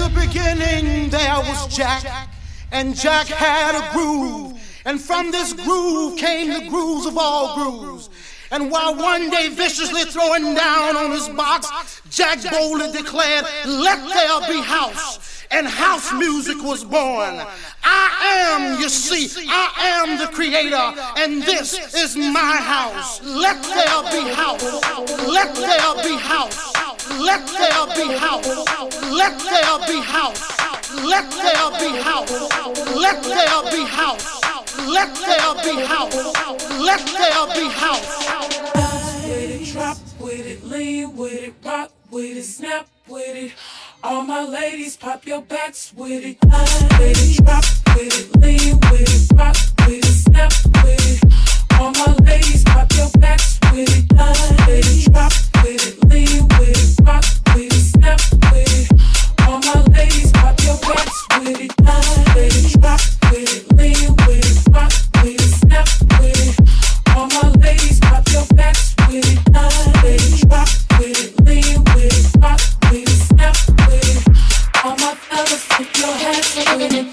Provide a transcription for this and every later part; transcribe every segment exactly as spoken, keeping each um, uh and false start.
the beginning there was Jack, and Jack had a groove, and from this groove came the grooves of all grooves. And while one day viciously throwing down on his box, Jack boldly declared, "Let there be house." And house music was born. I am, you see, I am the creator, and this is my house. Let there be house. Let there be house. Let there be house. Let there be house. Let there be house. Let there be house. Let there be house. Let there be house. Bounce with it, drop with it, lean with it, rock with it, snap with it. All my ladies, pop your backs with it. Line with it, drop with it, lean with it, rock with it, snap with it. All my ladies, pop your backs with it. Line with it, drop with it, lean with it, rock with it, snap with it. All my ladies, pop your backs with it. Line with it, drop with it, lean with it, rock with it, snap with it. All my ladies, pop your backs with it. Line with it, drop with it, lean with it, rock with it, snap with it. All my fellas, put your hands with it.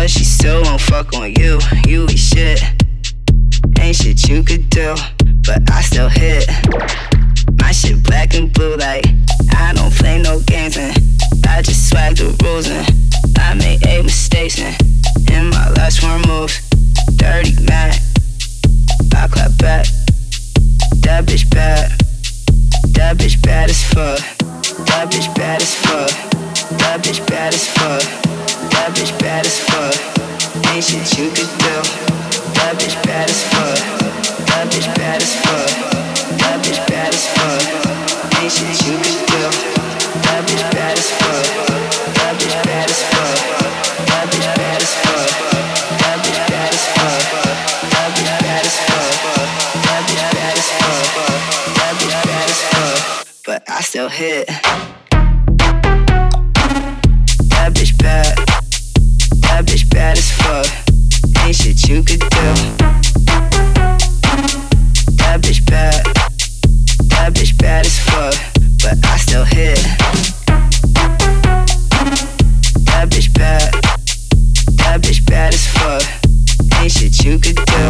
but she still won't fuck on you. You eat shit, ain't shit you could do, but I still hit. My shit black and blue like I don't play no games and I just swag the rules and I made eight mistakes and in my last four moves, dirty Mac, I clap back. That bitch bad, that bitch bad as fuck. That bitch bad as fuck. That bitch bad as fuck. That bitch bad as fuck. Ain't shit you could do. That bitch bad as fuck. That bitch bad as fuck. That bitch bad as fuck. Ain't shit you could do. That bitch bad as fuck. That bitch bad as fuck. That bitch bad as fuck. That bitch bad as fuck. That bitch bad as fuck. That bitch bad as fuck. That bitch bad as fuck. But I still hit. That bitch bad. That bitch bad as fuck. Ain't shit you could do. That bitch bad. That bitch bad as fuck. But I still hit. That bitch bad. That bitch bad as fuck. Ain't shit you could do.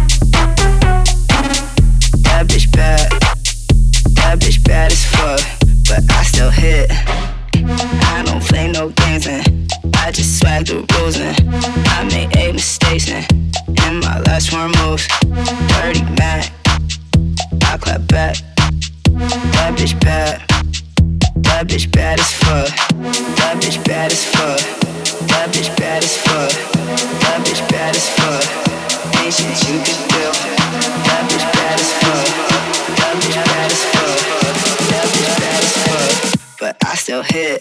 That bitch bad. That bitch bad as fuck. But I still hit. I don't play no games and I just swag the rules and I made eight mistakes and in my last four moves, dirty Mac, I clap back. That bitch bad. That bitch bad as fuck. That bitch bad as fuck. That bitch bad as fuck. That bitch bad as fuck. Ain't shit you could do. That bitch bad as fuck. That bitch bad as fuck. That bitch bad as fuck. But I still hit.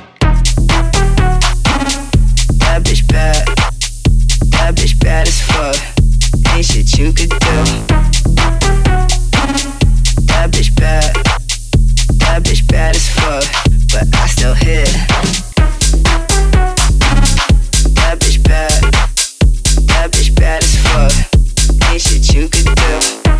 That bitch bad. That bitch bad as fuck. Ain't shit you could do. That bitch bad. That bitch bad as fuck. But I still hit. That bitch bad. That bitch bad as fuck. Ain't shit you could do.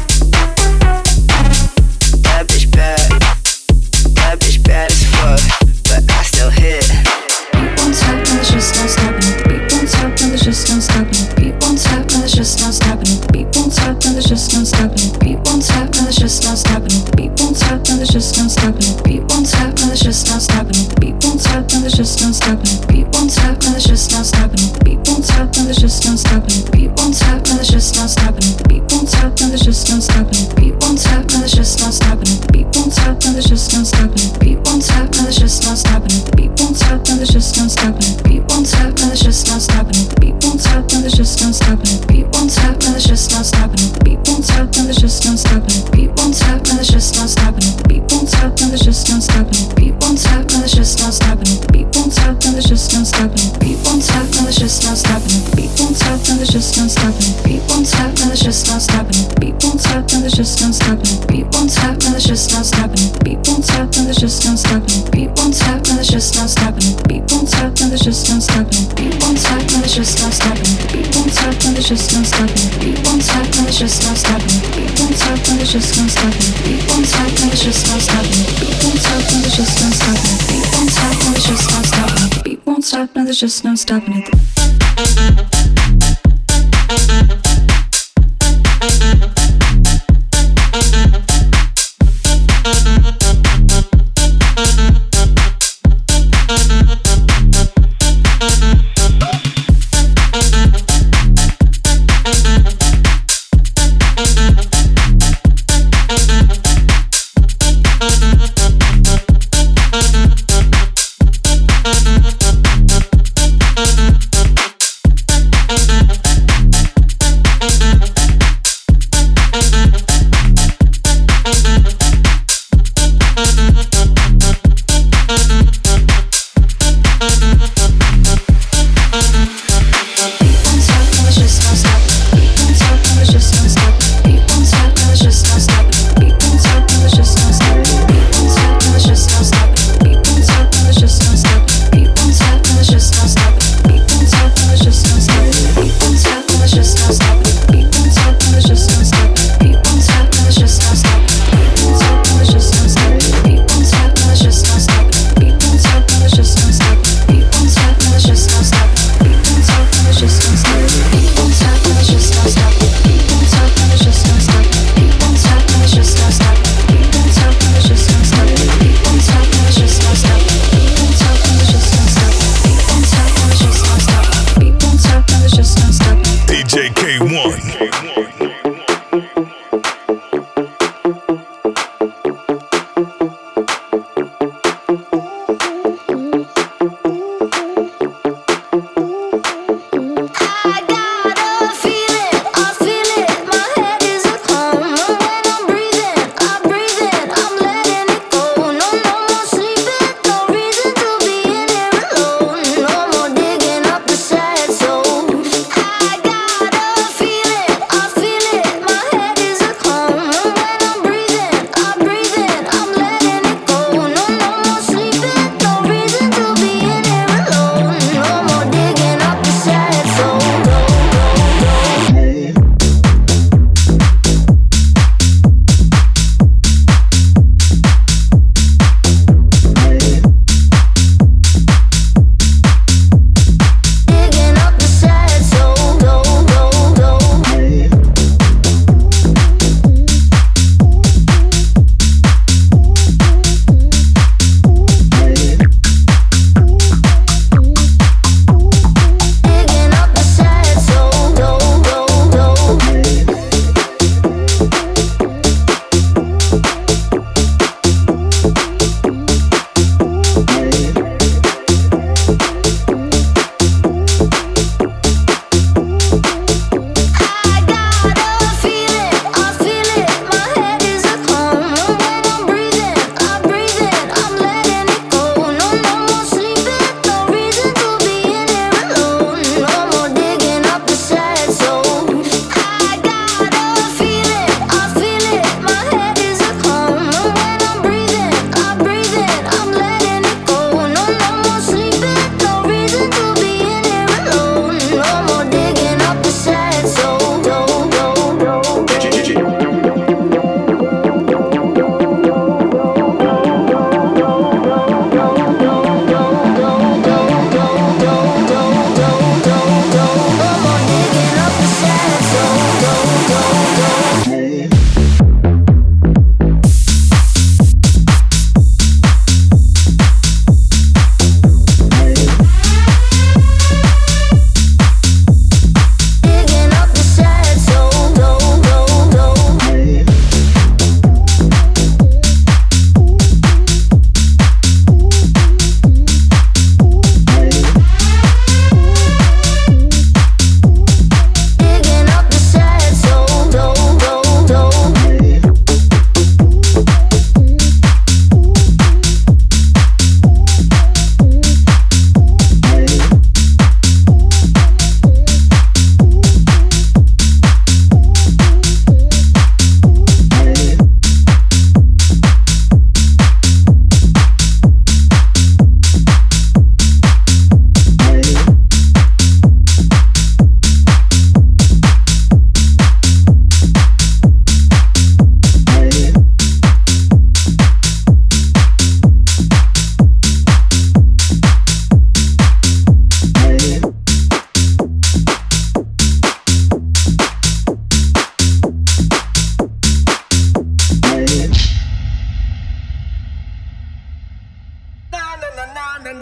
That bitch bad. That bitch bad as fuck. But I still hit. Beat won't stop, no, there's just no stopping it. The beat won't stop, no, there's just no stopping it. The beat won't stop, no, there's just no stopping it. The beat won't stop, no, there's just no stopping it. The beat won't stop, no, there's just no stopping it. The beat won't stop, no, there's just no stopping it. The beat won't stop, no, there's just no stopping it. The beat won't stop, no, there's just no stopping it. The beat won't stop, no, there's just no stopping it. The beat won't stop, no, there's just no stopping it. The beat won't stop, no, there's just no stopping it. The beat won't stop, no, there's just no stopping it. The beat won't stop, no, there's just no stopping it. The beat won't stop, no, there's just no stopping it. The beat won't stop, no, there's just no stopping it. The beat won't stop, no, there's just no stopping it. The beat won't stop, no, there's just no stopping it. The beat won't stop, no, there's just no stopping it. The beat won't stop, no, there's just no stopping it. The beat won't stop, no, there's just no stopping it. The beat won't stop, no, there's just no stopping it. The beat won't stop, no, there's just no stopping it. The beat won't stop, no, there's just no stopping it. The beat won't stop, no, there's just no stopping it. The beat won't stop, no, there's just no stopping it. The beat won't stop, no, there's just no stopping it. The beat won't stop, no, there's just no stopping it. The beat won't stop, no, there's just no stopping it. The beat won't stop, no, there's just no stopping it. The beat won't stop, no, there's just no stopping it. The beat won't stop, no, there's just no stopping it. The beat won't stop, no, there's just no stopping it. The beat won't stop, no, there's just no stopping it. The beat won't stop, no, there's just no stopping it. The beat won't stop, no, there's just no stopping it. The beat won't stop, no, there's just no stopping it. The beat won't stop, no, there's just no stopping it. The beat won't stop, no, there's just no stopping it. The beat won't stop, no, there's just no stopping it. The beat won't stop, no, there's just no stopping it.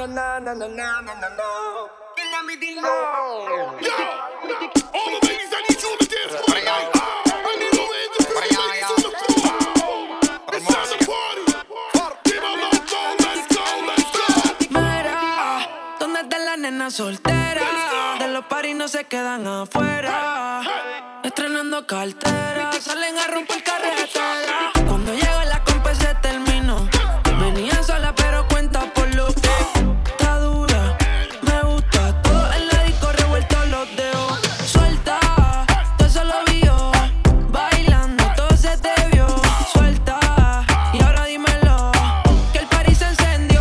na na na na na na na. Kill them with the Yo, all the ladies, I need you on the dance floor. I need all the independent ladies on the floor. It's time to party. Give a let's go, let's go, let's go. Mira, ¿dónde está la nena soltera? De los paris no se quedan afuera. Estrenando cartera, salen a romper carretera. Cuando llega la compa se terminó. Venía sola pero cuenta por lo que está dura. Me gusta todo en la disco revuelto los dedos. Suelta, todo eso lo vio. Bailando, todo se te vio. Suelta, y ahora dímelo, que el party se encendió.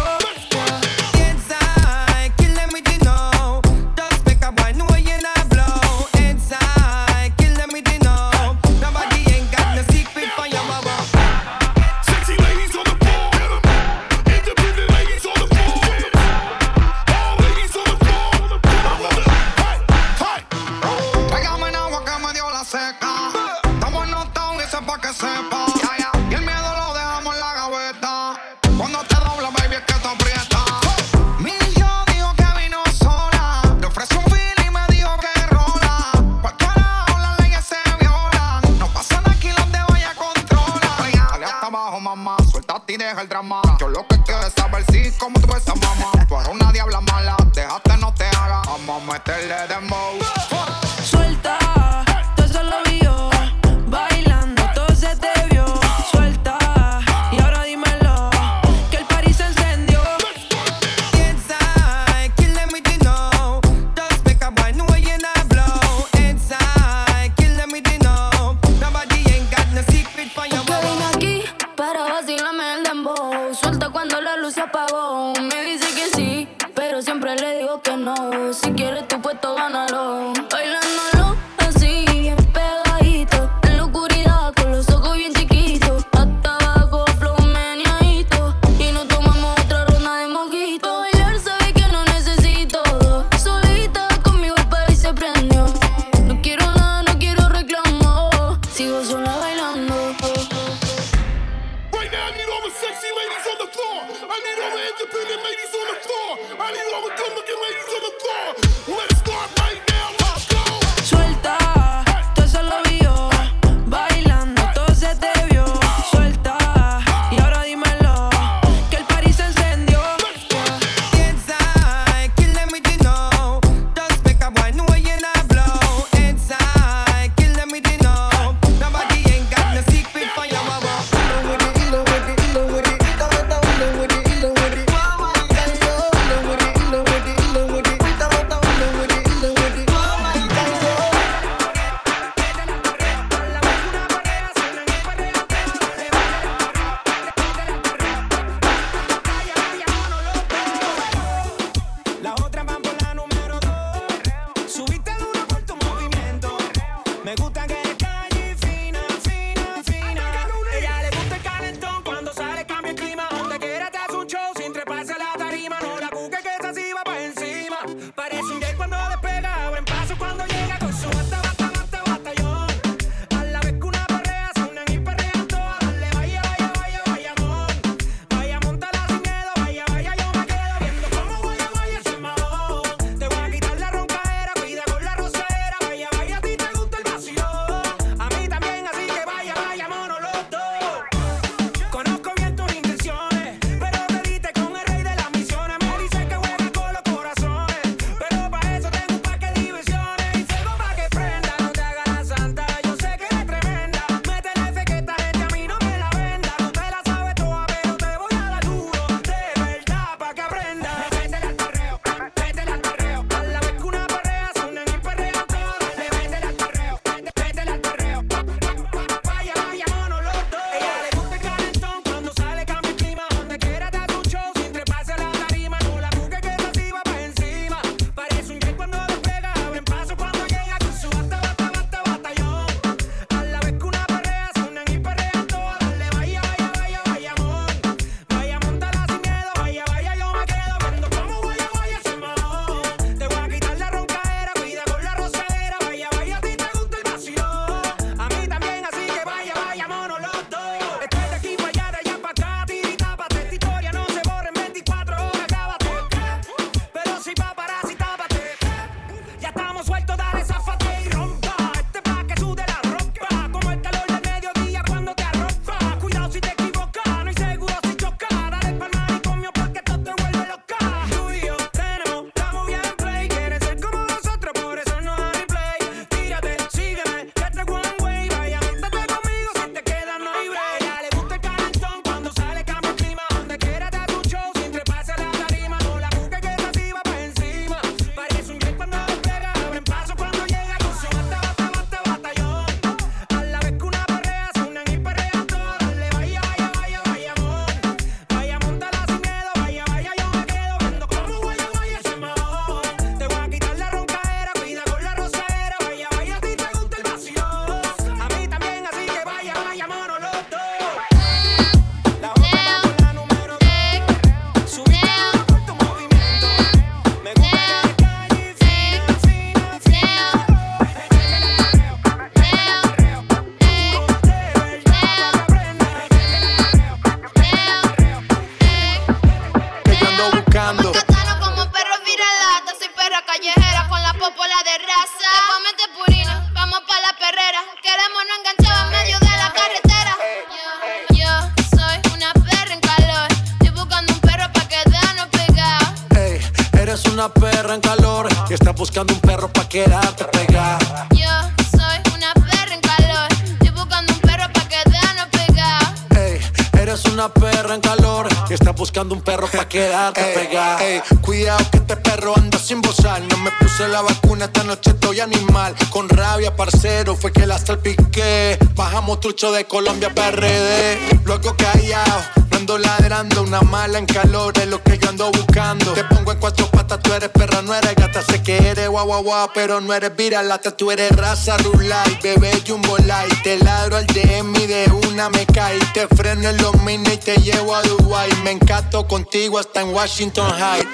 Inside, kill them with the know. Just make a boy know you not blow. Inside, kill them with the know. Nobody ain't got no secret for your mama. Sexy ladies on the floor. Independent ladies on the floor. All ladies on the floor. Hey, hey. Tráigame en agua que me dio la seca. Estamos en Uptown, dice pa' que sepa. Y el miedo lo dejamos en la gaveta. Cuando te dobla, baby, es que te aprieta. Mil yo dijo que vino sola. Le ofrecí un feel y me dijo que rola. Por carajo las leyes se violan. No pasan aquí los de vaya controla. Dale hasta abajo, mamá. Suéltate y deja el drama. Yo lo que quiero es saber si como tú ves a mamá. Tú eres una diabla mala. Déjate, no te haga. Vamos a meterle dembow. Suelta, todo eso lo vio. Bailando, todo se te vio. Suelta, y ahora dímelo, que el party se encendió. Inside, kill them with the know. Just make a boy know you not blow. Inside, kill them with the know. Nobody ain't got no secret for your Que vine mama. aquí para vacilarme el dembow. Suelta cuando la luz se apagó. Me dice que sí, pero siempre le digo que no. Si quieres tu puesto, gánalo. Bailándolo así, bien pegadito. En la oscuridad, con los ojos bien chiquitos. Hasta abajo, flow meneadito. Y nos tomamos otra ronda de mojito. Pa' bailar sabe que no necesito dos. Solita conmigo el party se prendió. No quiero nada, no quiero reclamo. Sigo sola bailando. Right now, I need all the sexy ladies on the floor. I need all the independent ladies on the floor. I need all the good-looking ladies on the floor. Let's start right now. Let's go. Suelta, todo eso lo vio. Bailando, todo se te vio. Suelta, y ahora dímelo, que el party se encendió. Inside, kill them with the know. Just make a boy know you not blow. Inside, kill them with the know. Nobody ain't got no secret for your mama. Ilo with it, ilo with it, ilo with it. Ilo with it, ilo with it, ilo with it. Ilo with it, ilo with it, ilo with it. Ilo with it, ilo with it. buscando un perro pa' quedarte pegada. Yo soy una perra en calor. Estoy buscando un perro pa' quedarnos pegados. Ey, eres una perra en calor y estás buscando un perro pa' quedarte Ey, pegada. ey, cuidado que este perro anda sin bozar. No me puse la vacuna, esta noche estoy animal. Con rabia, parcero, fue que la salpiqué. Bajamos trucho de Colombia P R D. Luego callado, no ando ladrando. Una mala en calor es lo que yo ando buscando. Te pongo en cuatro patas, tú eres perra, no eres gata. Sé que eres guau guau guau, pero no eres viralata. Tú eres raza rulay, bebé jumbo light. Te ladro al D M y de una me caí. Te freno en los mini y te llevo a Dubai. Me encanto contigo hasta en Washington Heights.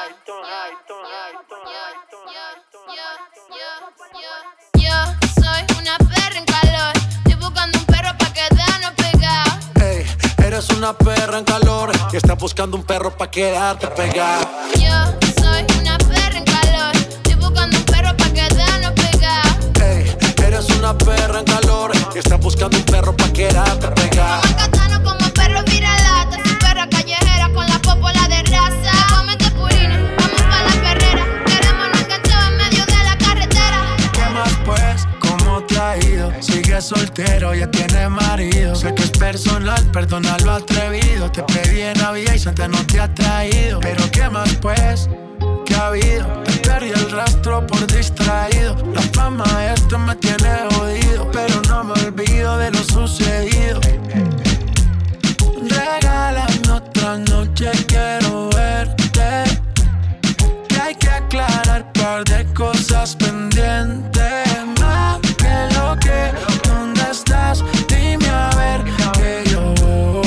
Yo soy una perra en calor. Estoy buscando un perro pa' quedarnos pegados. Ey, eres una perra en calor y estás buscando un perro pa' quedarte pegada. Yo soy una perra en calor. Estoy buscando un perro pa' quedarnos pegados. Ey, eres una perra en calor y estás buscando un perro pa' quedarte pegada. Como Catano, como perro viralata. Soy perra callejera con la popola de raza. Cómete purines, vamos pa' la perrera. Queremos nos enganchado en medio de la carretera. ¿Qué más pues? ¿Cómo te ha ido? Sigues soltero, ya tienes marido. Sé que es personal, perdona lo atrevido. Te pedí en Navidad y Santa no te ha traído. Pero ¿qué más pues? ¿Qué ha habido? Te perdí el rastro por distraído. La fama de esto me tiene jodido, pero no me olvido de lo sucedido. Regálame otra noche, quiero verte. Que hay que aclarar un par de cosas pendientes. Más que lo que, ¿dónde estás? Dime a ver que yo voy,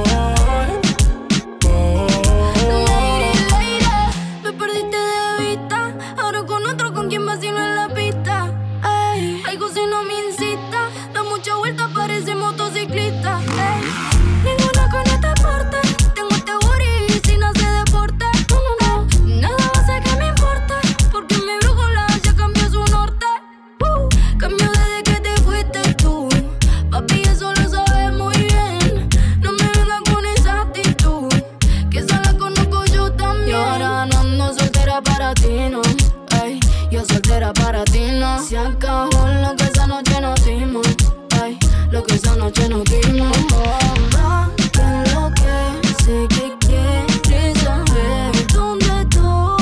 voy. Lady, lady, me perdiste de vista. Ahora con otro con quien vacilo en la pista. Ey, algo si no me incita. Da mucha vuelta, parece motociclista. Ey, ninguna con este porte. Tengo este booty sin hacer deporte. No, no, no, nada va a hacer que me importe. Porque mi brújula ya cambió su norte. Uh, cambió desde que te fuiste tú. Papi, eso lo sabes muy bien. No me vengas con esa actitud, que esa la conozco yo también. Y ahora no ando soltera para ti, no. Ay, yo soltera para ti, no. Se acabó lo que esa noche nos dimos. Ay, lo que esa noche nos dimos. Oh, va, que lo que sé que quieres saber dónde estoy.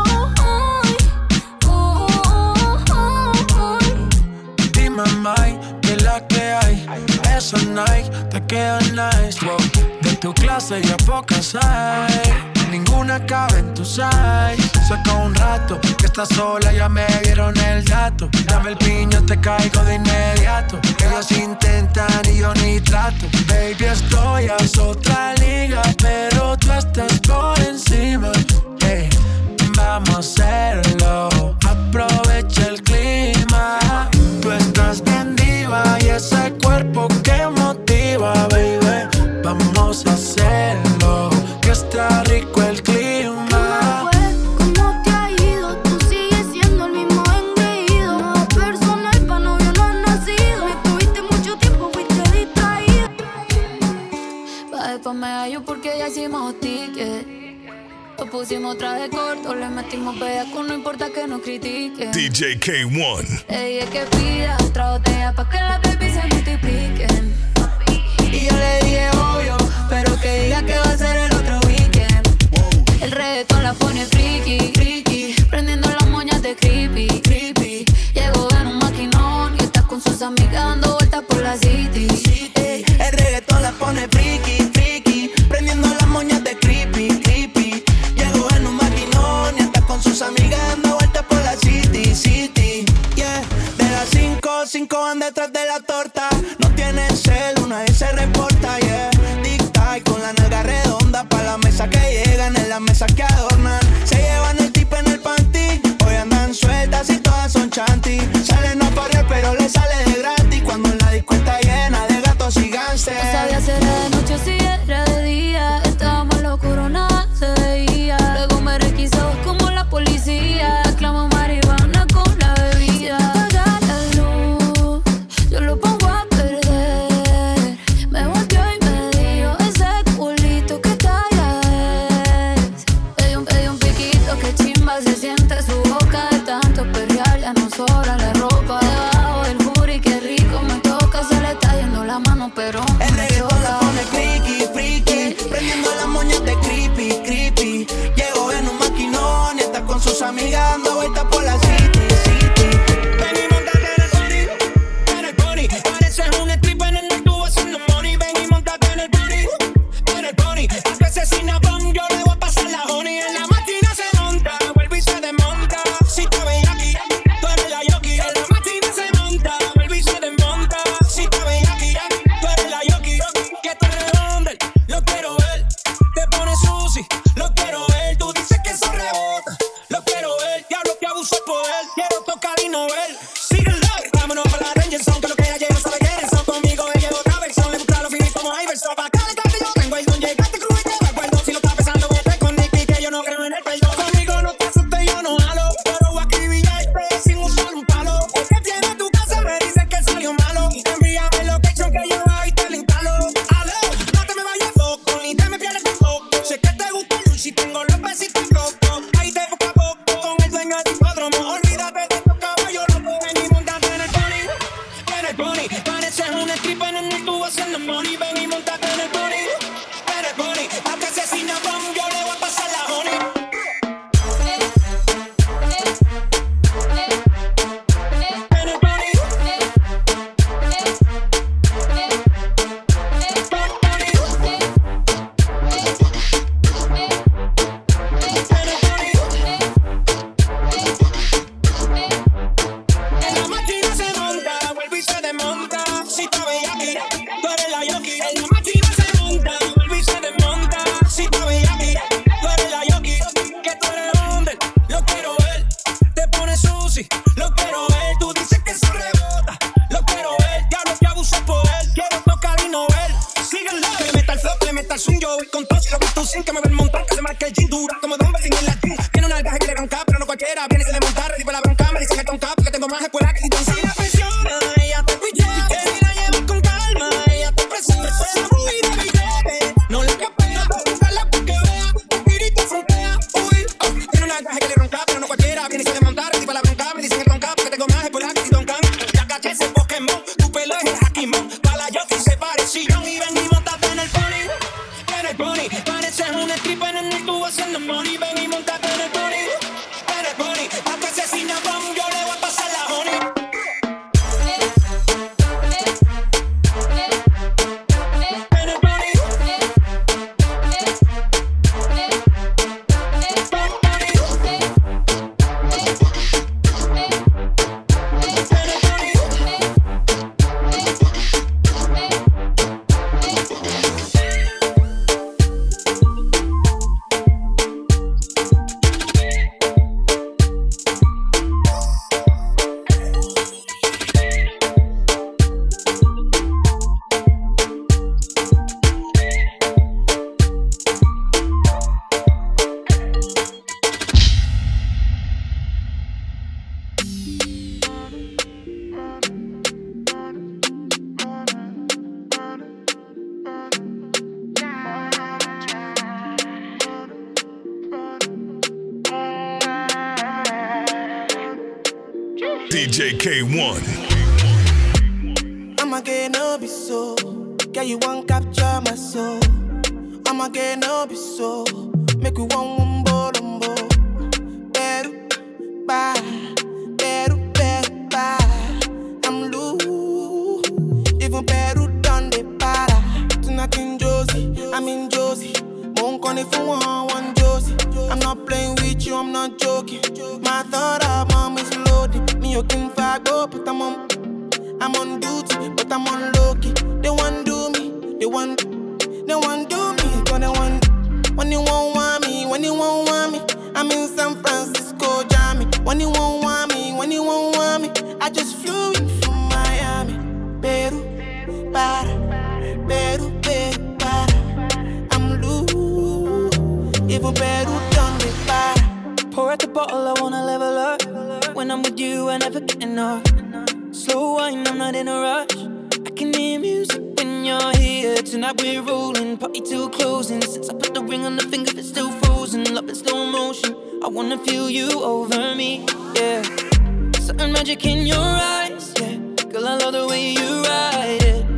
Oh, oh, oh, oh. Dime, Mike, que la que hay. Esa Nike te queda nice, wow. De tu clase ya pocas hay. Ninguna cabe en tu size. Saca un rato que estás sola, ya me dieron el dato. Dame el piño, te caigo de inmediato. Ellos intentan y yo ni trato. Baby, estoy a otra liga, pero tú estás por encima. Hey, vamos a hacerlo. Aprovecha el clima. Tú estás bien diva y ese cuerpo que motiva, baby. Vamos a hacerlo, que está rico el clima. ¿Cómo te ha ido? Tú sigues siendo el mismo engreído. Nada personal, pa' novio no has nacido. Me tuviste mucho tiempo, fuiste distraído. Pa' después me hallo porque ya hicimos ticket. Lo pusimos traje corto, le metimos bellaco, no importa que nos critiquen. D J K uno. Le dije que pida otra botella pa' que las baby se multipliquen. Y yo le dije obvio, pero que diga que va a ser el otro weekend. El reggaetón la pone friki, friki, prendiendo las moñas de creepy, creepy. Llegó en un maquinón y está con sus amigas dando vueltas por la city. Ey, el reggaetón la pone friki, friki, prendiendo las moñas de creepy, creepy. Llegó en un maquinón y está con sus amigas dando vueltas por la city, city. Yeah, de las cinco, cinco van detrás de la torta. No tienes como pero el reggaetón la pone freaky, freaky, prendiendo las moñas de creepy, creepy. Llegó en un maquinón y está con sus amigas dando vueltas por la city, city. Ven y montate en el body, en el body. Pareces un stripper en el tubo haciendo money. Ven y montate en el body, en el body. A veces sin abón yo le voy a pasar la honey. En la máquina se monta, vuelve y se desmonta. Si te veía aquí, tú eres la yoki. En la máquina se monta, vuelve y se desmonta. Si te veía aquí, tú eres la yoki. Que tú eres hombre, lo quiero ver. Te pones sushi, lo quiero ver. Tú dices que eso rebota, lo quiero ver. Diablo que abuso el poder, quiero tocar y no ver. Síguelo, vámonos para la Ranger Zone, que lo que ella lleva sabe quiénes son. Conmigo ella lleva otra versión, le gusta lo finito como Iverson. Pa' calentarte yo tengo el don, llegaste crudo y te va acuerdo. Si lo estás pensando, vete con Nicky, que yo no creo en el perdón. Conmigo no te asustes, yo no jalo, pero voy a acribillarte sin usar un palo. El que tiene tu casa me dice que salió malo. Envíame el location que yo voy y te lo instalo. Aló, no te me vayas poco, ni te me pierdas tampoco. Sé que te gusta el luchi, tengo los besitos locos. Ahí te busca poco, con el dueño del hipódromo. Olvídate de estos caballos locos. Ven y montate en el pony, en el pony. Pareces un stripper en el tubo haciendo money. Ven y montate en el pony, en el pony. A que se sin abón yo le voy a pasar la honey. En el pony, en la máquina se monta, vuelve y se desmonta. Si te veía aquí, tú eres la yoki. En la máquina se monta, vuelve y se desmonta. Si te veía aquí, tú eres la yoki. Que tú eres hombre, lo quiero ver. Te pones sushi, lo quiero ver. Tú dices que eso rebota, lo quiero ver. Diablo que abuso el poder, quiero tocar y no ver. Síguelo, que le meta el flow, que le meta el swing. Yo voy con todo, si lo tú sin que me ve el montón. Que se marque el jean dura, como Don Belín en la jean. Tiene una algaje que le ronca, pero no cualquiera. Viene y se le monta, ready para la bronca. Me dicen que tonca, porque tengo más escuela que si tú. Si la presiona, ella te pichea. Que si la llevas con calma, ella te presiona. Uy, de billete, no le capea. Buscarla porque vea, y te frontea. Uy, oh, tiene una algaje que le ronca, pero no cualquiera. Viene y se le monta, ready para la bronca. Me dicen que tonca, porque tengo más escuela que si toncan. Ya caché ese Pokémon, tu pelo es el Hakimon. Pa' la Yoki se parecieron y ven y montate en el pony, en el pony. Pareces un stripper en el tubo haciendo money. Ven y montate en el pony, en el pony. A que se sin abón yo le voy a pasar la honey. En el pony, D J K one. I'ma get no be so. Girl, you won't capture my soul. I'ma get no be so. Make you one wumbo lumbo. Beru, ba, beru, beru, ba. I'm loose. Even Peru done the para. Tonight in Josie, I'm in Josie. Won't call if you want one Josie. I'm not playing with you, I'm not joking. My thought of mom is loaded. Me, you can go, but I'm on. I'm on duty, but I'm on low-key. They want do me, they want, they want do me, but they want. When you won't want me, when you won't want me, I'm in San Francisco, Jammy. When you won't want me, when you won't want me, I just flew in from Miami. Peru, para, Peru, Peru, para. I'm loose, even Peru done me para. Pour out the bottle, I wanna level up. When I'm with you, I never get enough. Slow wine, I'm not in a rush. I can hear music when you're here. Tonight we're rolling, party till closing. Since I put the ring on the finger, it's still frozen. Love in slow motion, I wanna feel you over me, yeah. Certain magic in your eyes, yeah. Girl, I love the way you ride it. And it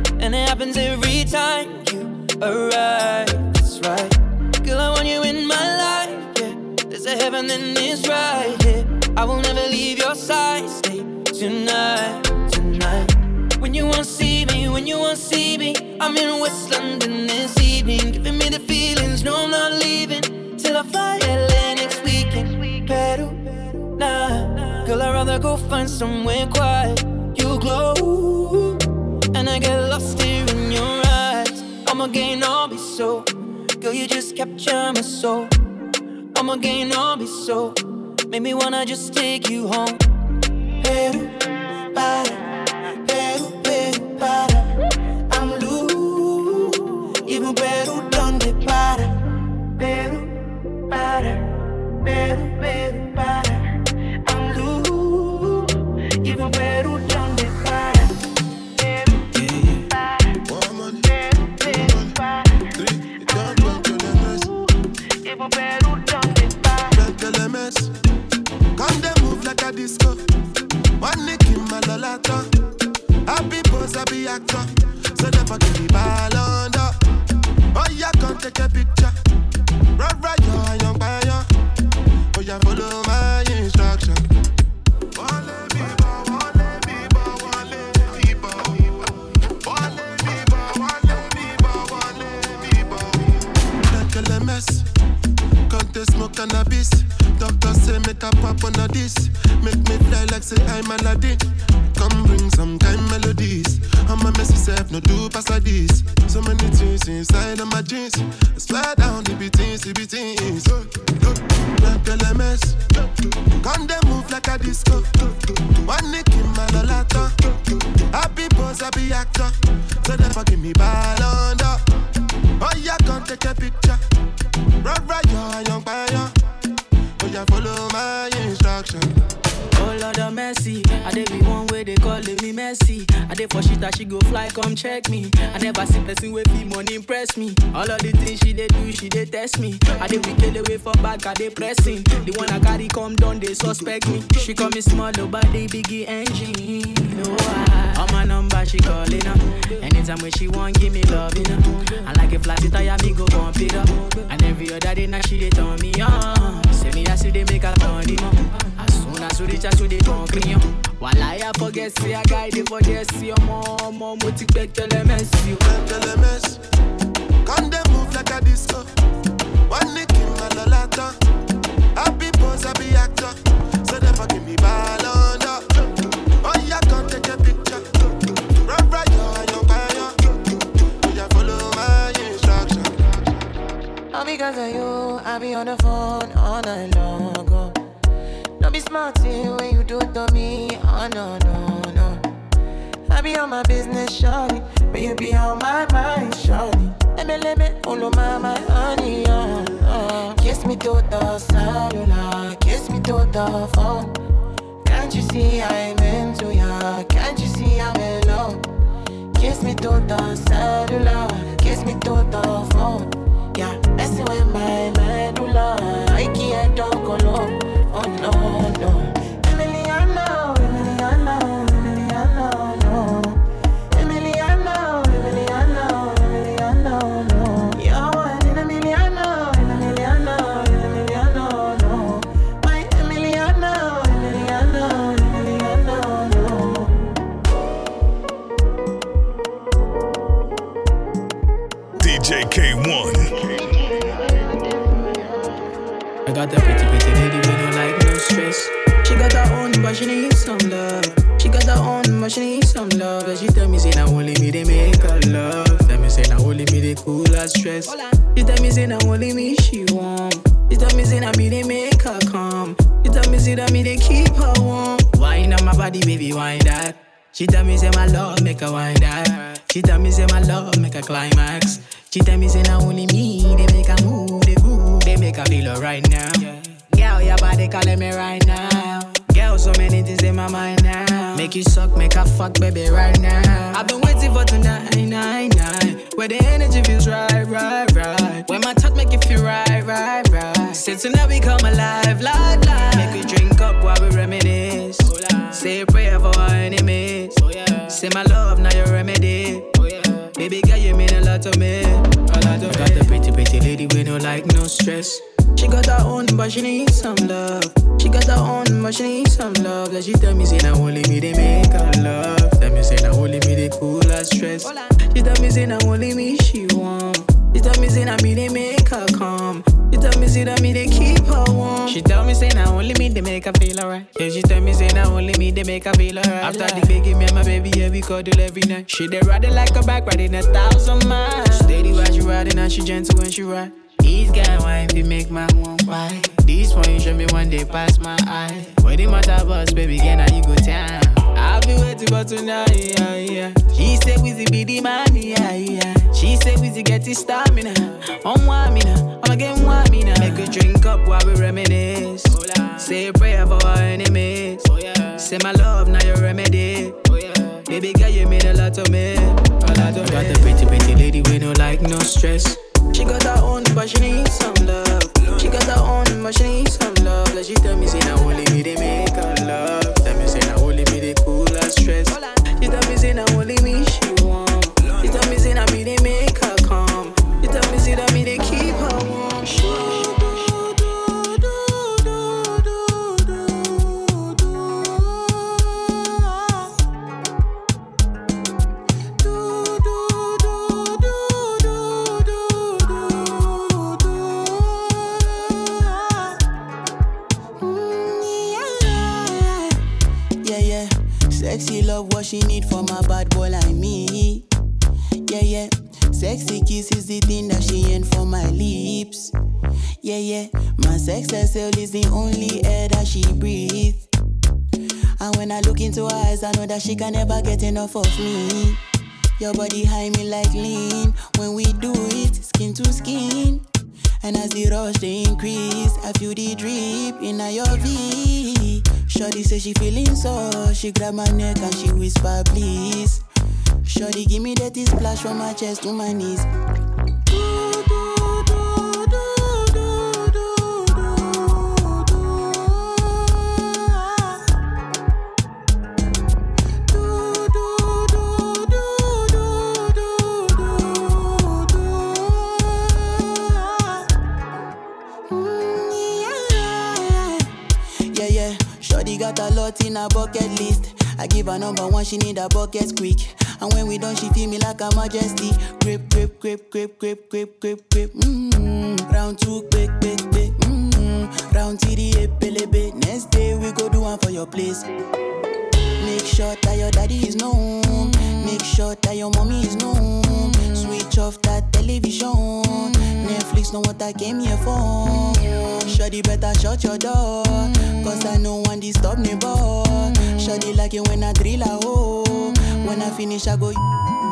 happens every time you arrive. That's right. Girl, I want you in my life, yeah. There's a heaven and it's right here. I will never leave your side. Stay tonight, tonight. When you won't see me, when you won't see me, I'm in West London this evening, giving me the feelings. No, I'm not leaving till I fly L A next weekend. Peru, nah, girl, I'd rather go find somewhere quiet. You glow, and I get lost here in your eyes. I'm again, I'll be so. Girl, you just capture my soul. I'm again, I'll be so. Make me wanna just take you home. Peru, para, Peru, Peru, para. I'm loose. Even Peru, donde para. Peru, para, Peru, Peru, para. I'm loose. Even Peru, donde para. Peru, para. Peru, Peru, para. Even Peru, donde para. Come they move like a disco. One nick in my lolata. Happy pose, happy actor. So never give me ball under. Oh yeah, come take a picture. Right, right, yo, I young by yo. Oh yeah, follow my instruction. Wale biba, wale biba, wale biba. Wale biba, wale biba, wale biba. Like a L M S. Can't they smoke cannabis? Doctor say make a pop on a this. Make me fly like say I'm Aladdin. Come bring some kind melodies. I'm a messy self, no do pass like this. So many things inside of my jeans. I swear down the beatings, the beatings. Like L M S. Come they move like a disco. One nick in my lolata. Happy pose, happy actor. So never give me ball under. Oh yeah, come take a picture. Right, right, yo, young fire. Oh yeah, follow my instruction. Oh Lord of mercy, I dey be one way they calling me messy. I dey for shit that she go fly, come check me. I never see person with fee money impress me. All of the things she dey do, she dey test me. I dey wicked away for back, I dey pressing. The one I carry come down, they suspect me. She call me small, but they biggie engine. No, I, on my number she calling up. Anytime when she want, give me love, you know. I like a flat tire, me go pump it up. And every other day now she dey turn me on. Say me I see they make her money, no. As soon as we reach out to the concrete, while I forget, say I guide it for this, see your mom, mom, what you expect to let me see you. L M S, come they move like a disco. One nick in my lolata. Happy pose, happy actor. So never give me ball under. Oh yeah, come take a picture. Right, right, yo, young fire. Oh yeah, follow my instruction. All because of you, I be on the phone all night long. Oh. Don't be smart when you do it to me. Oh no, no, no. I be on my business, shawty, but you be on my mind, shawty. Let me, let me, follow my, my honey, oh, oh. Kiss me to the cellular, kiss me to the phone. Can't you see I'm into ya? Can't you see I'm in love? Kiss me to the cellular, kiss me to the phone. Yeah, messing with my medulla, I can't talk alone. Oh no, no. Emiliano, Emiliano, Emiliano, no. Emiliano, Emiliano, Emiliano, no. You're one in a Emiliano, Emiliano, Emiliano, no. My Emiliano, Emiliano, Emiliano, no. D J K one. I got that pretty, pretty lady with no like, no stress. She got her own, but she needs some love. She got her own, but she needs some love. And she tell me, say, now only me, they make her love. Tell me, say, now only me, they cool her stress. She tell me, say, now only me, she warm. She tell me, say, now me, they make her calm. She tell me, say, that me, they keep her warm. Wine on my body, baby, wine that. She tell me, say, my love, make her wine that. She tell me, say, my love, make her climax. She tell me, say, now only me, they make her move, they groove, they make her feel alright now. Yeah. Girl, your body calling me right now. Girl, so many things in my mind now. Make you suck, make her fuck, baby, right now. I've been waiting for tonight, nine, nine. Where the energy feels right, right, right. Where my touch make you feel right, right, right. Say tonight we come alive, live, live. Make we drink up while we reminisce. Say a prayer for our enemies. Say my love, now your remedy. you mean a lot to me. A lot to got the pretty, pretty lady with no like, no stress. She got her own, but she needs some love. She got her own, but she needs some love. Like she tell me, say, now only me, they make her love. Tell me, say, now only me, they cool her stress. She tell me, say, now only me, she want. She tell me, say, now me, they make her calm. She tell me, say, that me, they keep her warm. She tell me, say, now only me, they make her feel alright. Yeah, she tell me, say, now only me, they make her feel alright. After the baby, me and my baby, yeah, we cuddle every night. She they ride it like a bike, riding a thousand miles. Steady while she riding, and she gentle when she ride. These guys wine fi make my one why. This one you show me one day pass my eye. When the matter bus, baby, again now you go down. I'll be waiting for tonight, yeah, yeah. She say Wizzy be the man, yeah, yeah. She say Wizzy get his stamina. On one me now, I'm again one me now. Make a drink up while we reminisce. Say a prayer for our enemies. Oh, yeah. Say my love, now your remedy. Oh, yeah. Baby girl, you mean a lot to me. A lot to me. Got the pretty, pretty lady with no like, no stress. She got her own, but she needs some love. She got her own, but she needs some love. Like she tell me, say, now only me, they make her love. Tell me, say, now only me, they cool her stress. She tell me, say, now only me, she want. She tell me, say, now me, they make her calm. She tell me, say, that me, they keep her warm. Sexy love, what she need from a bad boy like me. Yeah, yeah. Sexy kiss is the thing that she ain't for my lips. Yeah, yeah. My sex herself is the only air that she breathes. And when I look into her eyes, I know that she can never get enough of me. Your body high me like lean. When we do it, skin to skin. And as the rush they increase, I feel the drip in your V. Shorty say she feeling so, she grab my neck and she whisper please. Shorty give me that splash from my chest to my knees. Got a lot in her bucket list. I give her number one, she need a bucket quick. And when we done, she feel me like a majesty. Grip, grip, grip, grip, grip, grip, grip, grip. Mm-hmm. Round two, quick, quick, quick. Mm-hmm. Round three, epelebe. Next day we go do one for your place. Make sure that your daddy is known. Make sure that your mommy is known. Switch off that television. Netflix know what I came here for. Shawty better shut your door, cause I know one disturb me boy. Shawty like it when I drill a hole. When I finish I go.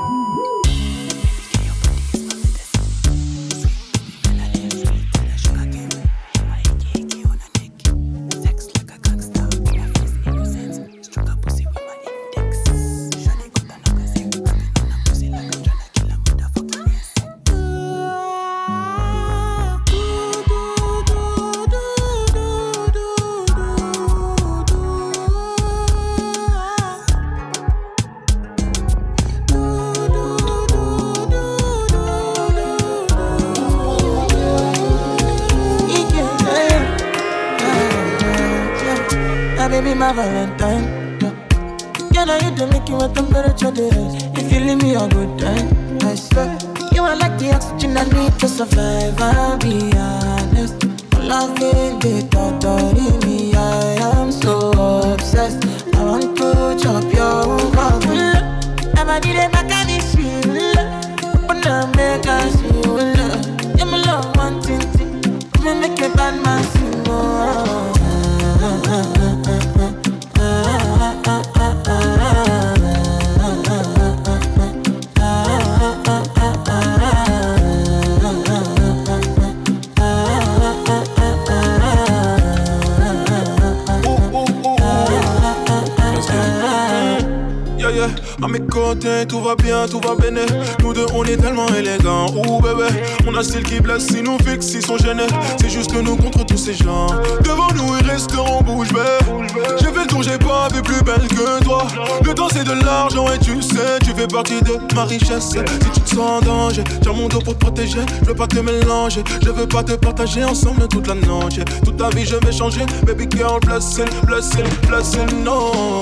Baby, my Valentine. Can I hit the make you a temperature rise? If you leave me a good time, I swear. You are like the oxygen I need to survive. I'll be honest. Love it, they torture me. I am so obsessed. I want to chop your heart. Never did it back at this shit. But now make us see. Give me love one thing. Me make a bad man sing. Oh. I'm a con côté, tout va bien, tout va béné. Nous deux, on est tellement élégants. Ouh bébé, on a style qui blesse, si nous fixe, ils sont gênés. C'est juste nous contre tous ces gens. Devant nous, ils resteront bouche bée. J'ai fait le tour, j'ai pas vu plus belle que toi. Le temps, c'est de l'argent et tu sais, tu fais partie de ma richesse. Si tu te sens en danger, tiens mon dos pour te protéger. Je veux pas te mélanger, je veux pas te partager ensemble toute la noche. Toute ta vie, je vais changer. Baby girl, blessing, blessing, blessing, no.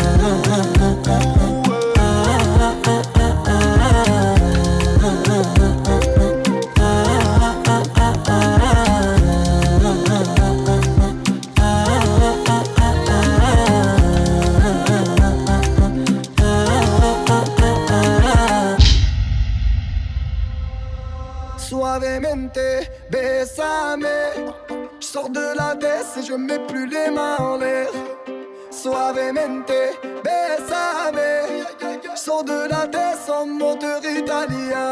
Suavemente, bésame. Je sors de la tête et je mets plus les mains en l'air. Suavemente, bésame. Je sors de la tête en moteur italien.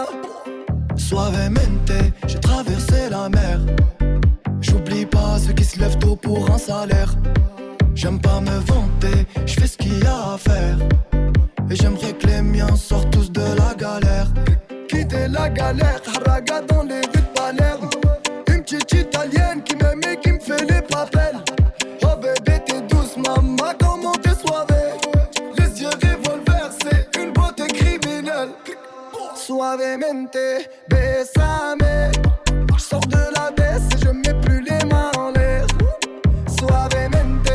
Suavemente, j'ai traversé la mer. J'oublie pas ceux qui se lèvent tôt pour un salaire. J'aime pas me vanter, je fais ce qu'il y a à faire. Et j'aimerais que les miens sortent tous de la galère. Quitter la galère, haraga dans les rues de Palerme. Une petite italienne qui m'aime et qui me fait les papels. Oh bébé t'es douce maman, comment t'es soivée. Les yeux revolver, c'est une beauté criminelle. Suavemente, bésame. Je sors de la baisse et je mets plus les mains en l'air. Suavemente,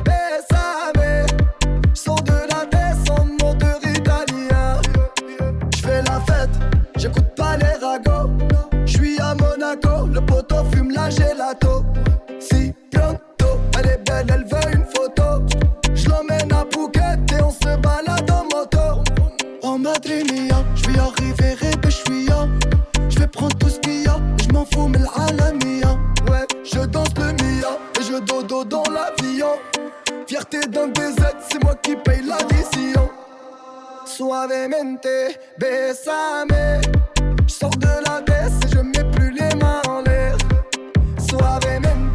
bésame. Je sors de la baisse en moteur italien. Je fais la fête, j'écoute pas les ragots. J'suis à Monaco, le poteau fume la gelato. Si pronto, elle est belle, elle veut une photo. J'l'emmène à Phuket et on se balade en moto. En Madrid mia, j'vais arriver et j'suis ya. J'vais prendre tout ce qu'il y a, j'm'en fous mais l'alamia. Ouais, je danse le mia et je dodo dans l'avion. Fierté d'un B Z, c'est moi qui paye l'addition. Suavemente, bésame. Je sors de la baisse et je mets plus les mains en l'air. Suavemente,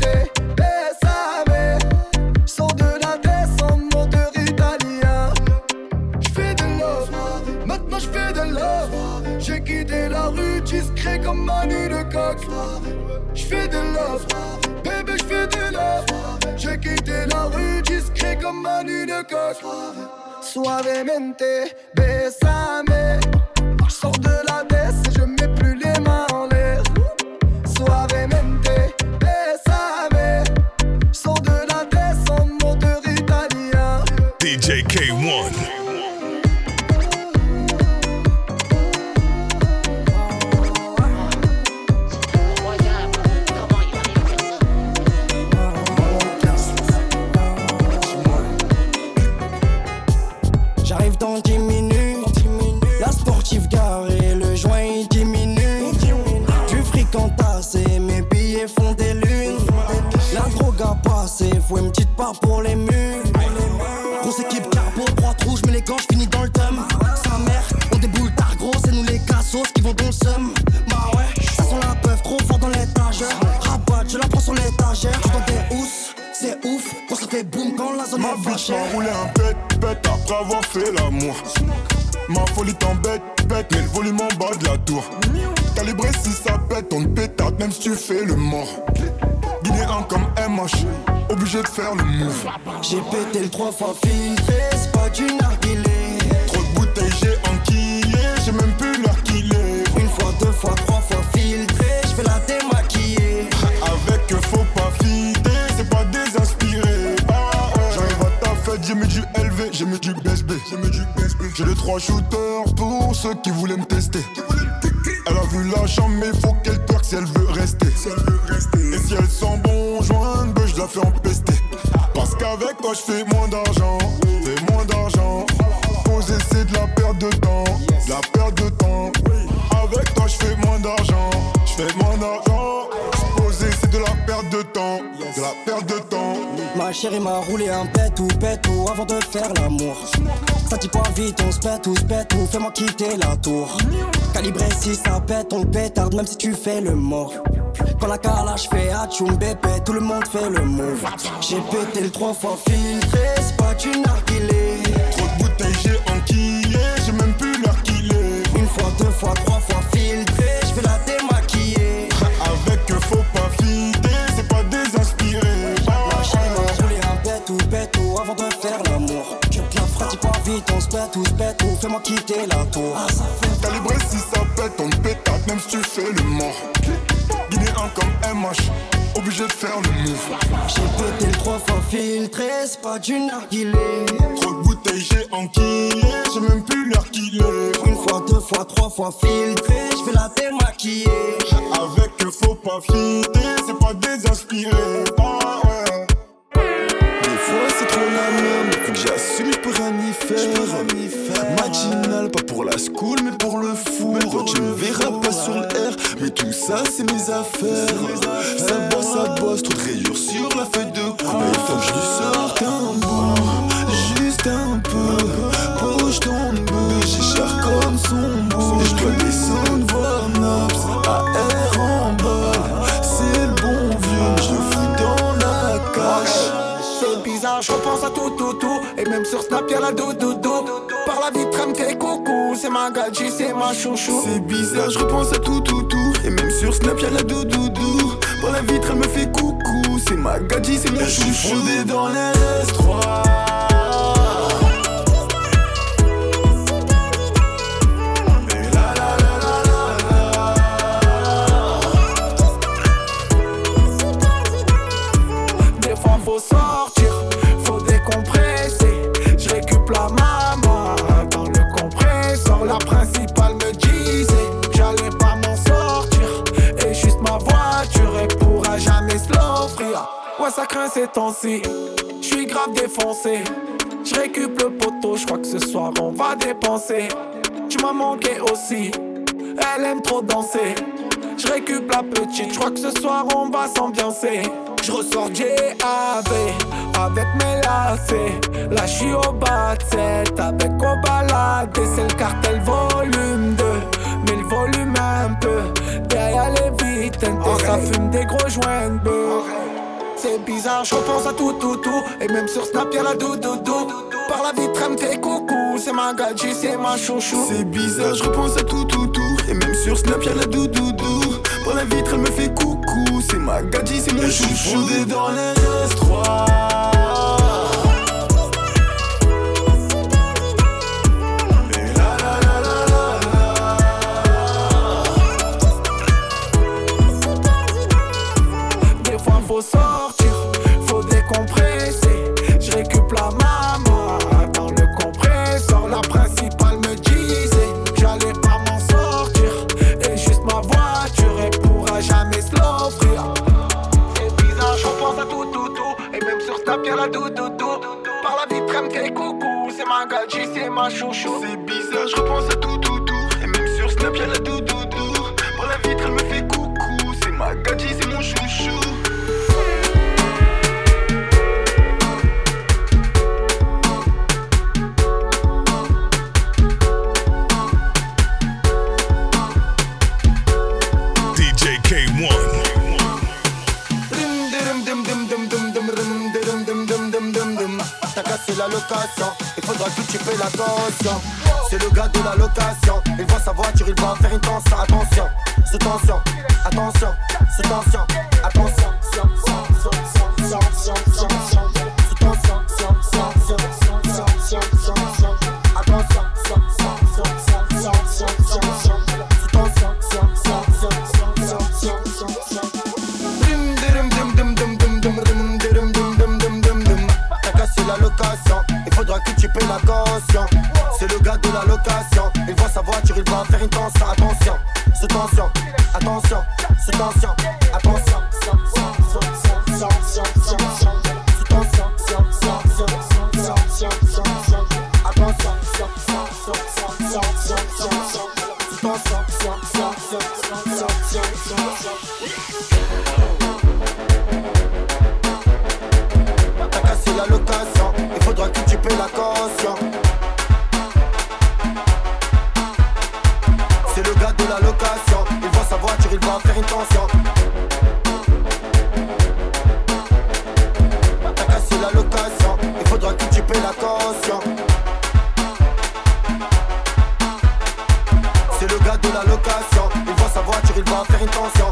bésame. Je sors de la baisse en moteur italien. Je fais de love, maintenant je fais de love. J'ai quitté la rue discret comme Manu de Coq. Je fais de love, bébé je fais de love. J'ai quitté la rue discret comme Manu de Coq. Suavemente, bésame. Je sors de la baisse et je mets plus les mains en l'air. Suavemente, bésame. Je sors de la baisse en moteur italien. D J K one. J'arrive dans dix minutes, la sportive garée, le joint il diminue. Du fric entassé, mes billets font des lunes. La drogue a passé, faut une petite part pour les murs. Grosse équipe carbo, droite rouge, mais les gants j'finis dans le thème. Sa mère, on déboule tard gros, c'est nous les cassos qui vont dans le seum. Bah ouais, ça sent la peuf trop fort dans l'étagère. Rabat, je la prends sur l'étagère, je dans des housses. C'est ouf, quand ça fait boum quand la zone est vachée. Ma bitch m'a roulé un pet, pet après avoir fait l'amour. Ma folie t'embête, bête, mais le volume en bas de la tour. Calibré si ça pète, on te pétate même si tu fais le mort. Guinéen comme M H, obligé de faire le move. J'ai pété le trois fois filtré, c'est pas du narguilé. Trop de bouteilles j'ai enquillé, j'ai même plus l'heure qu'il est. Une fois, deux fois, trois fois filtré, j'fais la démaquiller. Avec faut pas fider, c'est pas désinspiré. Ah, ouais. J'arrive à ta fête, j'ai mis du L V, j'ai mis du B S B. J'ai les trois shooters pour ceux qui voulaient me tester. Elle a vu la chambre mais faut qu'elle twerk si elle veut rester. Et si elle sent bon joint, ben je la fais empester. Parce qu'avec toi je fais moins d'argent, fais moins d'argent. Poser c'est de la perte de temps, de la perte de temps. Avec toi je fais moins d'argent, je fais moins d'argent. Poser c'est de la perte de temps, de la perte de temps. Ma chérie m'a roulé un pet ou pet ou avant de faire l'amour. Ça dit pas vite, on se pète ou se pète ou fais-moi quitter la tour. Calibré si ça pète, on le pétarde même si tu fais le mort. Quand la calage fait atchoum bébé, tout le monde fait le move. J'ai pété le trois fois filtré, c'est pas du narguilé. Trop de bouteilles j'ai enquillé, j'ai même plus pétate, même si tu fais le mort. Guinéen comme M H, obligé de faire le move. J'ai pété le trois fois filtré, c'est pas du narguilé. Trop de bouteilles, j'ai enquillé, j'ai même plus l'heure qu'il est. Une fois, deux fois, trois fois filtré, j'vais la démaquiller. Avec eux faut pas fitter, c'est pas désinspiré. Ah ouais. Des fois c'est trop la même, depuis que j'assume je peux rien y faire. Matinal, pas pour la school mais pour le four. Tu me verras pas sur le R, mais tout ça c'est mes affaires. Ça bosse, ça bosse, trop de rayures sur la feuille de cours. Il faut que je lui sorte un bout, juste un peu. Poche ton bœuf, j'ai cher comme son beau. Je dois descendre voir Naps, A R en bas. C'est le bon vieux, je le fous dans la cache. C'est bizarre, je repense à tout, tout, tout. Et même sur Snap y'a la doudoudou. Par la vitre elle me fait coucou. C'est ma gadji, c'est ma chouchou. C'est bizarre, je repense à tout, tout, tout. Et même sur Snap y'a la doudoudou. Par la vitre elle me fait coucou. C'est ma gadji, c'est mon chouchou. Je suis fondé dans les S trois. Faut sortir, faut décompresser. Je récup la maman dans le compresseur. La principale me disait que j'allais pas m'en sortir. Et juste ma voiture, elle pourra jamais se l'offrir. Ouais, ça craint ces temps-ci. J'suis grave défoncé. J'récup le poteau, j'crois que ce soir on va dépenser. Tu m'as manqué aussi, elle aime trop danser. J'récup la petite, j'crois que ce soir on va s'ambiancer. J'ressors J A V avec mes lacets. Là j'suis au bas de sept avec au balade. Et c'est le cartel volume deux, mais le volume un peu. Derrière les vitres, okay. Ça fume des gros joints de bœuf. C'est bizarre, j'repense à tout, tout, tout. Et même sur Snap y'a la doudoudou. Par la vitre elle me fait coucou. C'est ma gadji, c'est ma chouchou. C'est bizarre, j'repense à tout, tout, tout. Et même sur Snap y'a la doudoudou. Par la vitre elle me fait coucou. C'est ma gadji, c'est mon chouchou. Je suis fondé dans les S trois. Faut sortir, faut décompresser. Je récup la maman dans le compresseur. La principale me disait que j'allais pas m'en sortir. Et juste ma voiture, elle pourra jamais se l'offrir. C'est bizarre, je repense à tout, tout, tout. Et même sur Snap y'a la doudoudou. Par la vitre, elle me fait coucou. C'est ma gadji, c'est ma chouchou. C'est bizarre, je repense à tout, tout, tout. Et même sur Snap y'a la doudoudou. Par la vitre, elle me fait coucou. C'est ma gadji, c'est mon chouchou. T'as cassé la location, il faudra que tu payes la caution. C'est le gars de la location, il voit sa voiture, il va faire une tension. Attention, sous tension, attention, sous tension, attention, sous tension, il faudra que tu payes la caution. C'est le gars de la location, il voit sa voiture, il va faire une tension. Attention, sous tension, attention, sous tension, attention, t'as cassé la location, il faudra que tu payes la caution. C'est le gars de la location, il voit sa voiture, il va faire une tension. T'as cassé la location, il faudra que tu payes la caution. C'est le gars de la location, il voit sa voiture, il va faire une tension.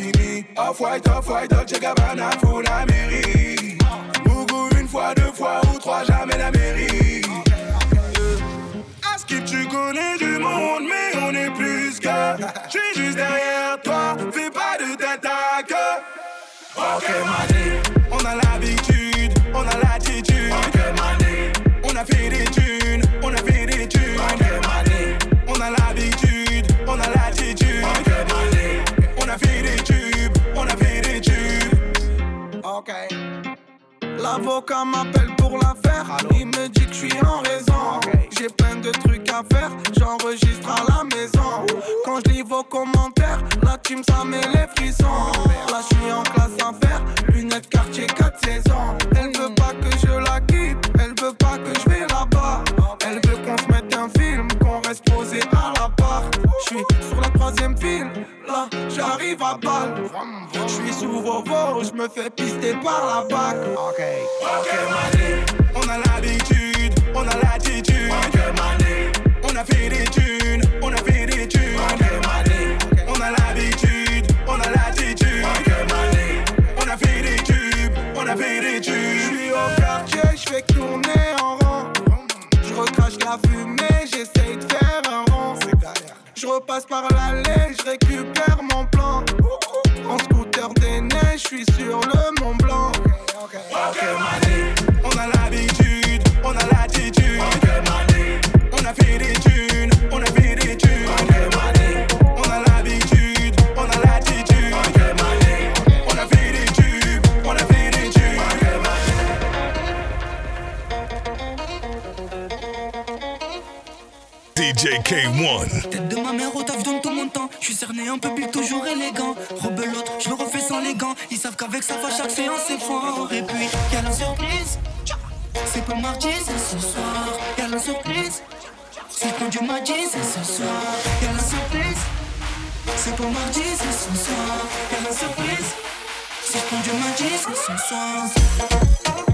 fini. Off-white, off-white, Dolce Gabbana, full Amérique. Bougou une fois, deux fois ou trois, jamais l'Amérique. Skip, tu connais du monde, mais on est plus que. J'suis juste derrière toi, fais pas de tête à queue. Ok, mané, on a l'habitude, on a l'attitude. Ok, mané, on a fait des thunes, on a fait des thunes. Ok, mané, on a l'habitude, on a l'attitude. Ok, mané, on a fait des tubes, on a fait des tubes. Ok. L'avocat m'appelle pour l'affaire. Il me dit que je suis en raison. Okay. J'ai plein de trucs à faire, j'enregistre à la maison. Quand je lis vos commentaires, la team ça met les frissons. Là je suis en classe à faire, lunettes quartier quatre saisons. Elle veut pas que je la quitte, elle veut pas que je vais là-bas. Elle veut qu'on se mette un film, qu'on reste posé à l'appart. Je suis sur la troisième file, là j'arrive à balle. Je suis sous vos veaux, je me fais pister par la bac. Ok, ok mané, on a l'habitude, on a l'attitude. Ok mané, on a fait des thunes, on a fait des thunes. Ok mané, on a l'habitude, on a l'attitude. Ok mané, on a fait des tubes, on a fait des tubes. Je suis au quartier, je fais tourner en rond. Je recrache la fumée, j'essaye de faire un rond. Je repasse par l'allée, je récupère mon plan. En scooter des neiges, je suis sur le Mont Blanc. Ok, mané, on a l'habitude, on a l'attitude. Ok, mané, on a fait des thunes, on a fait des thunes. Ok, mané, on a l'habitude, on a l'attitude. Ok, mané, on a fait des tubes, on a fait des tubes. Ok, D J K one. Tête de ma mère au taf donne tout mon temps. Je suis cerné un peu plus toujours élégant. Rebelote, je le refais sans les gants. Ils savent qu'avec ça va chaque séance c'est fort. Et puis y'a la surprise. C'est pas mardi, c'est ce soir. Y'a la surprise. C'est quand Dieu m'a dit, c'est ce soir. Y'a la surprise. C'est pas mardi, c'est ce soir. Y'a la surprise. C'est quand Dieu m'a dit, c'est ce soir.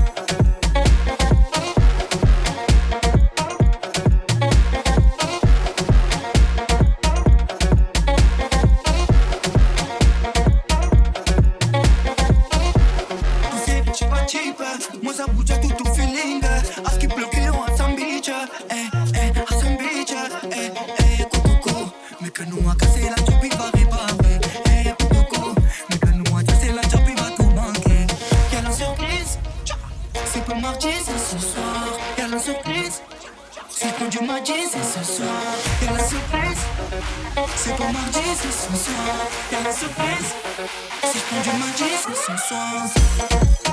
Moi ça bouge à tout au feeling. À ce qui bloque on a beach. Eh eh, à son beach. Eh eh, coco. Mais que nous a cassé la job il va réparer. Eh coco. Mais que nous a cassé la job il va tout manquer. Y'a la surprise. C'est pas mardi, c'est ce soir. Y'a la surprise. C'est quand Dieu m'a dit, c'est ce soir. Y'a la surprise. C'est pas mardi, c'est ce soir. Y'a la surprise. C'est quand Dieu m'a dit, c'est ce soir.